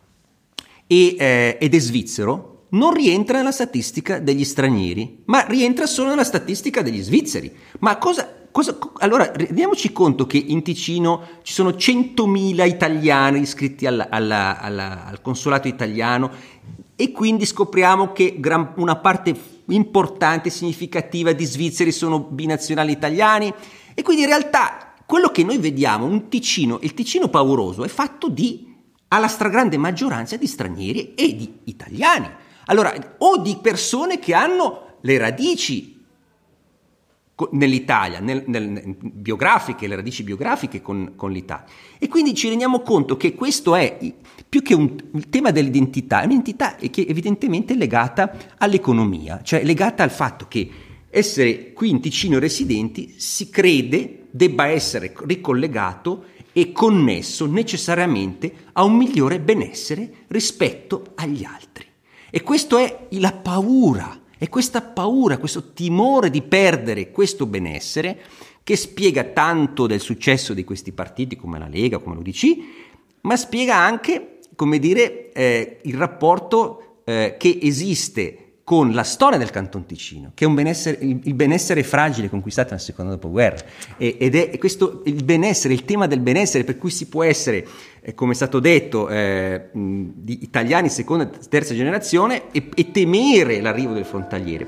ed è svizzero, non rientra nella statistica degli stranieri, ma rientra solo nella statistica degli svizzeri. Ma allora rendiamoci conto che in Ticino ci sono 100.000 italiani iscritti al consolato italiano, e quindi scopriamo che una parte importante, significativa di svizzeri sono binazionali italiani, e quindi in realtà quello che noi vediamo, il Ticino pauroso, è fatto alla stragrande maggioranza di stranieri e di italiani, allora, o di persone che hanno le radici nell'Italia, biografiche, le radici biografiche con l'Italia, e quindi ci rendiamo conto che questo è più che il tema dell'identità, è un'identità che evidentemente è legata all'economia, cioè legata al fatto che essere qui in Ticino residenti si crede debba essere ricollegato è connesso necessariamente a un migliore benessere rispetto agli altri. E questo è la paura, è questa paura, questo timore di perdere questo benessere che spiega tanto del successo di questi partiti come la Lega, come l'UDC, ma spiega anche, come dire, il rapporto che esiste con la storia del Canton Ticino, che è un benessere, il benessere fragile conquistato nel secondo dopoguerra, ed è questo il benessere, il tema del benessere, per cui si può essere, come è stato detto, di italiani seconda e terza generazione e temere l'arrivo del frontaliere.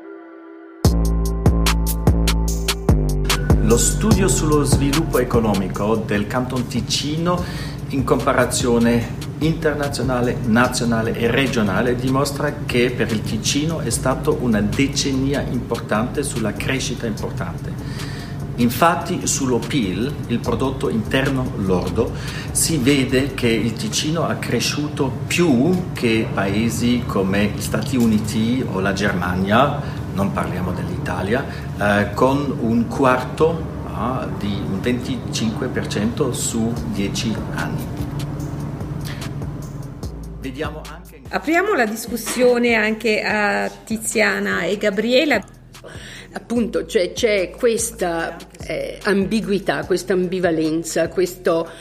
Lo studio sullo sviluppo economico del Canton Ticino in comparazione internazionale, nazionale e regionale dimostra che per il Ticino è stata una decennia importante sulla crescita importante. Infatti sullo PIL, il prodotto interno lordo, si vede che il Ticino ha cresciuto più che paesi come gli Stati Uniti o la Germania, non parliamo dell'Italia, con un quarto di un 25% su 10 anni. Vediamo anche... Apriamo la discussione anche a Tiziana e Gabriela. Appunto, cioè, c'è questa ambiguità, questa ambivalenza, questo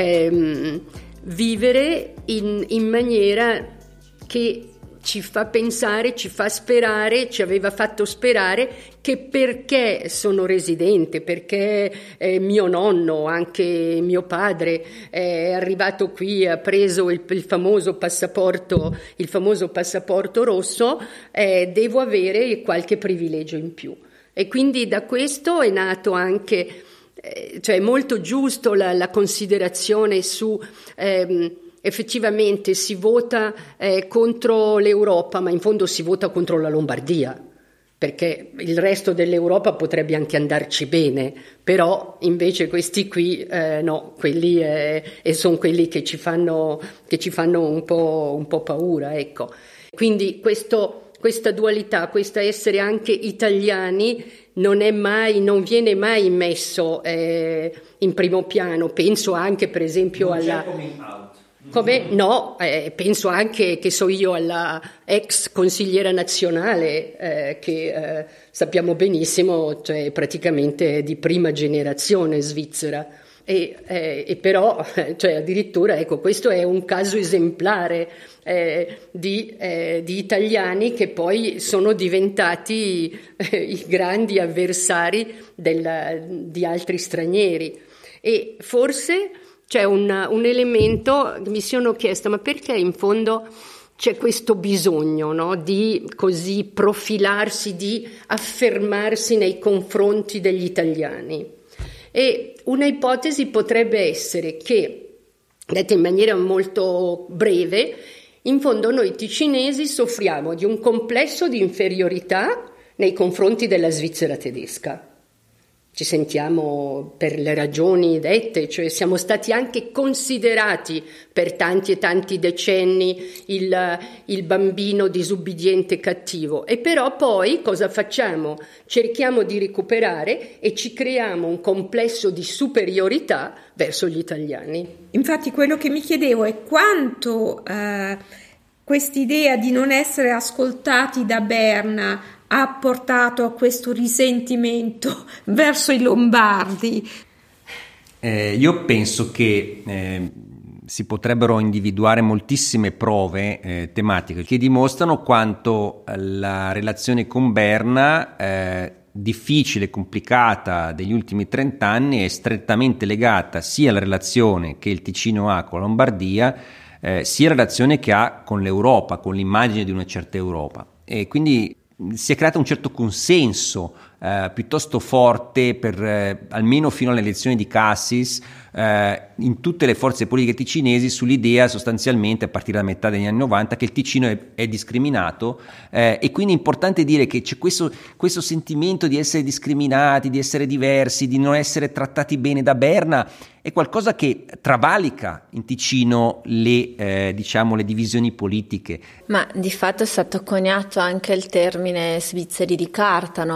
vivere in maniera che ci fa pensare, ci fa sperare, ci aveva fatto sperare che perché sono residente, perché mio nonno, anche mio padre è arrivato qui, ha preso il famoso passaporto rosso, devo avere qualche privilegio in più. E quindi da questo è nato anche, cioè molto giusto la considerazione su... effettivamente si vota contro l'Europa, ma in fondo si vota contro la Lombardia, perché il resto dell'Europa potrebbe anche andarci bene, però invece questi qui no, quelli sono quelli che ci fanno un po' paura, ecco. Quindi questa dualità, questa essere anche italiani non viene mai messo in primo piano. Penso anche per esempio come? No, penso anche, che so io, alla ex consigliera nazionale che sappiamo benissimo, cioè praticamente di prima generazione svizzera e però, cioè addirittura, ecco, questo è un caso esemplare di italiani che poi sono diventati i grandi avversari di altri stranieri. E forse c'è un elemento che mi sono chiesta, ma perché in fondo c'è questo bisogno, no, di così profilarsi, di affermarsi nei confronti degli italiani? E una ipotesi potrebbe essere che, detta in maniera molto breve, in fondo noi ticinesi soffriamo di un complesso di inferiorità nei confronti della Svizzera tedesca. Ci sentiamo per le ragioni dette, cioè siamo stati anche considerati per tanti e tanti decenni il bambino disubbidiente cattivo, e però poi cosa facciamo? Cerchiamo di recuperare e ci creiamo un complesso di superiorità verso gli italiani. Infatti quello che mi chiedevo è quanto quest'idea di non essere ascoltati da Berna ha portato a questo risentimento verso i lombardi. Io penso che si potrebbero individuare moltissime prove tematiche che dimostrano quanto la relazione con Berna, difficile e complicata degli ultimi 30 anni, è strettamente legata sia alla relazione che il Ticino ha con la Lombardia, sia alla relazione che ha con l'Europa, con l'immagine di una certa Europa. E quindi si è creato un certo consenso piuttosto forte almeno fino alle elezioni di Cassis in tutte le forze politiche ticinesi sull'idea, sostanzialmente a partire da metà degli anni 90, che il Ticino è discriminato, e quindi è importante dire che c'è questo sentimento di essere discriminati, di essere diversi, di non essere trattati bene da Berna. È qualcosa che travalica in Ticino le divisioni politiche. Ma di fatto è stato coniato anche il termine svizzeri di carta, no? Per parlare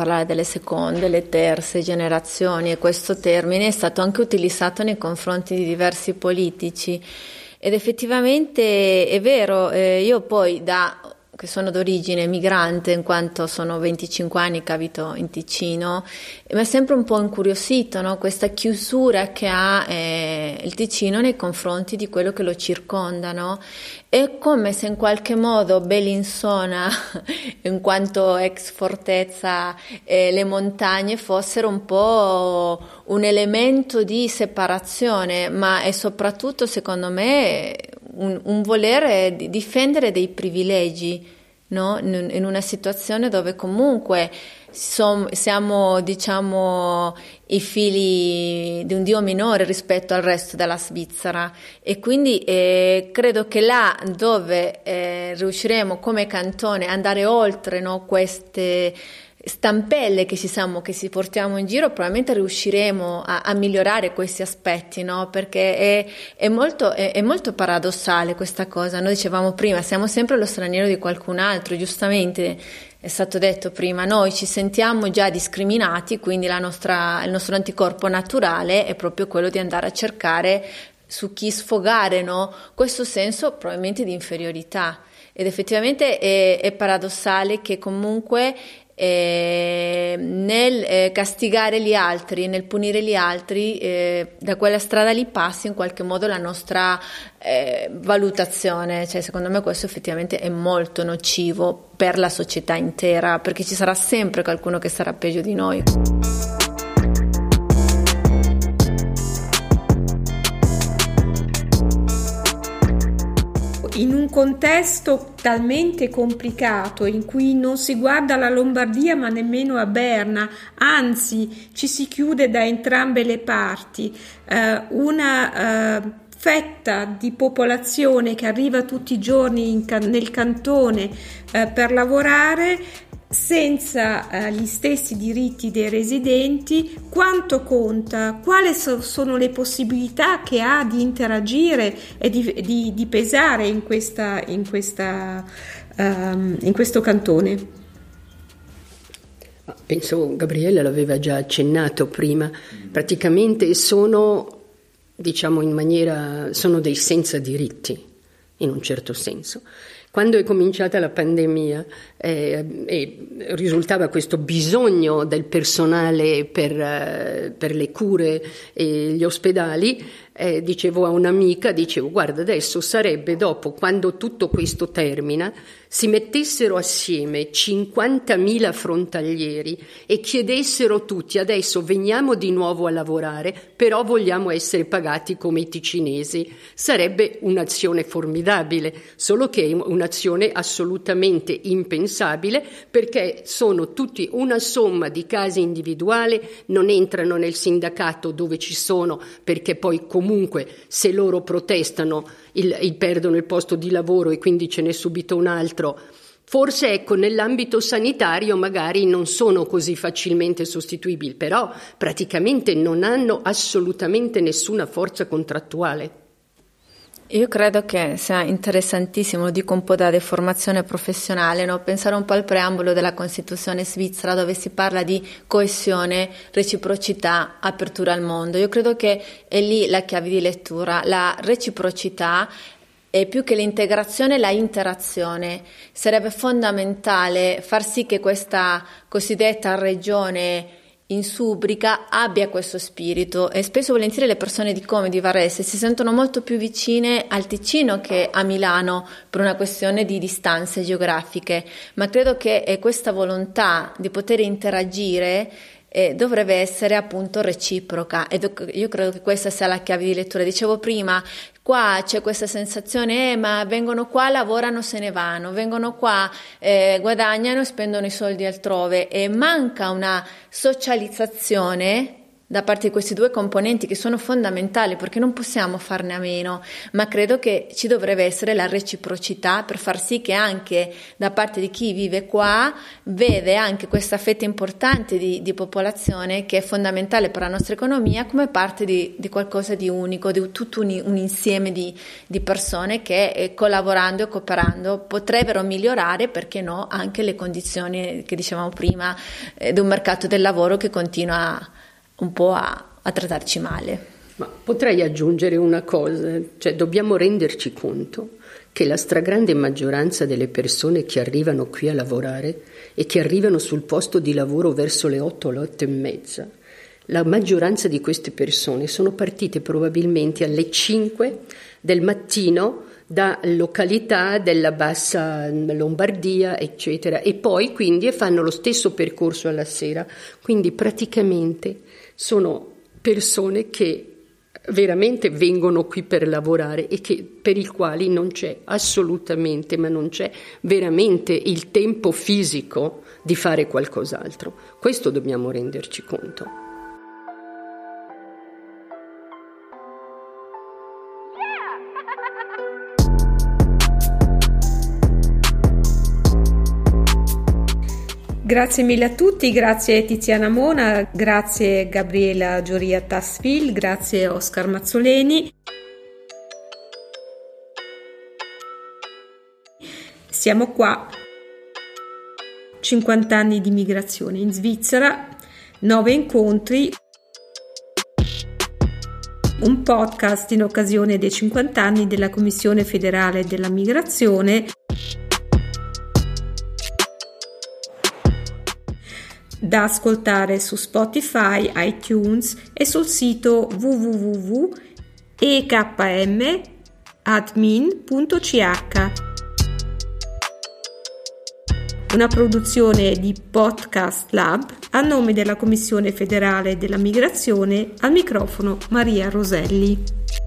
parlare delle seconde, le terze generazioni, e questo termine è stato anche utilizzato nei confronti di diversi politici. Ed effettivamente è vero, io poi che sono d'origine migrante, in quanto sono 25 anni che abito in Ticino, mi è sempre un po' incuriosito, no? Questa chiusura che ha il Ticino nei confronti di quello che lo circonda, no? È come se in qualche modo Bellinzona, in quanto ex fortezza, le montagne fossero un po' un elemento di separazione, ma è soprattutto, secondo me, un volere difendere dei privilegi, no? In una situazione dove comunque siamo, diciamo, i figli di un dio minore rispetto al resto della Svizzera, e quindi credo che là dove riusciremo come cantone ad andare oltre, no, queste stampelle che si portiamo in giro, probabilmente riusciremo a migliorare questi aspetti, no? Perché è molto paradossale questa cosa. Noi dicevamo prima, siamo sempre lo straniero di qualcun altro, giustamente è stato detto prima, noi ci sentiamo già discriminati, quindi il nostro anticorpo naturale è proprio quello di andare a cercare su chi sfogare, no? Questo senso probabilmente di inferiorità, ed effettivamente è paradossale che comunque nel castigare gli altri, nel punire gli altri, da quella strada lì passi in qualche modo la nostra valutazione. Cioè, secondo me questo effettivamente è molto nocivo per la società intera, perché ci sarà sempre qualcuno che sarà peggio di noi. In un contesto talmente complicato in cui non si guarda la Lombardia ma nemmeno a Berna, anzi ci si chiude da entrambe le parti, una fetta di popolazione che arriva tutti i giorni nel cantone per lavorare senza gli stessi diritti dei residenti, quanto conta? Quali sono le possibilità che ha di interagire e di pesare in questo cantone? Penso Gabriele l'aveva già accennato prima, praticamente sono, diciamo sono dei senza diritti, in un certo senso. Quando è cominciata la pandemia e risultava questo bisogno del personale per le cure e gli ospedali, dicevo a un'amica, guarda, adesso sarebbe dopo, quando tutto questo termina, si mettessero assieme 50.000 frontalieri e chiedessero tutti: adesso veniamo di nuovo a lavorare, però vogliamo essere pagati come i ticinesi. Sarebbe un'azione formidabile, solo che è un'azione assolutamente impensabile, perché sono tutti una somma di casi individuali, non entrano nel sindacato dove ci sono, perché poi comunque se loro protestano perdono il posto di lavoro e quindi ce n'è subito un altro. Forse nell'ambito sanitario magari non sono così facilmente sostituibili, però praticamente non hanno assolutamente nessuna forza contrattuale. Io credo che sia interessantissimo, lo dico un po' da deformazione professionale, no? Pensare un po' al preambolo della Costituzione svizzera, dove si parla di coesione, reciprocità, apertura al mondo. Io credo che è lì la chiave di lettura. La reciprocità è più che l'integrazione, la interazione. Sarebbe fondamentale far sì che questa cosiddetta regione in Subrica abbia questo spirito, e spesso volentieri le persone di Como e di Varese si sentono molto più vicine al Ticino che a Milano per una questione di distanze geografiche, ma credo che questa volontà di poter interagire dovrebbe essere appunto reciproca, ed io credo che questa sia la chiave di lettura. Dicevo prima, qua c'è questa sensazione ma vengono qua, lavorano, se ne vanno, vengono qua, guadagnano e spendono i soldi altrove, e manca una socializzazione da parte di questi due componenti che sono fondamentali, perché non possiamo farne a meno, ma credo che ci dovrebbe essere la reciprocità per far sì che anche da parte di chi vive qua vede anche questa fetta importante di popolazione che è fondamentale per la nostra economia come parte di qualcosa di unico, di tutto un insieme di persone che collaborando e cooperando potrebbero migliorare, perché no, anche le condizioni che dicevamo prima di un mercato del lavoro che continua un po' a trattarci male. Ma potrei aggiungere una cosa, cioè dobbiamo renderci conto che la stragrande maggioranza delle persone che arrivano qui a lavorare e che arrivano sul posto di lavoro verso le 8 o le 8 e mezza, la maggioranza di queste persone sono partite probabilmente alle 5 del mattino da località della bassa Lombardia, eccetera, e poi quindi fanno lo stesso percorso alla sera. Quindi praticamente sono persone che veramente vengono qui per lavorare e per i quali non c'è assolutamente, ma non c'è veramente il tempo fisico di fare qualcos'altro. Questo dobbiamo renderci conto. Grazie mille a tutti, grazie Tiziana Mona, grazie Gabriela Gioria Tassville, grazie Oscar Mazzoleni. Siamo qua, 50 anni di migrazione in Svizzera, 9 incontri, un podcast in occasione dei 50 anni della Commissione federale della migrazione, da ascoltare su Spotify, iTunes e sul sito www.ekmadmin.ch. Una produzione di Podcast Lab a nome della Commissione federale della migrazione, al microfono Maria Roselli.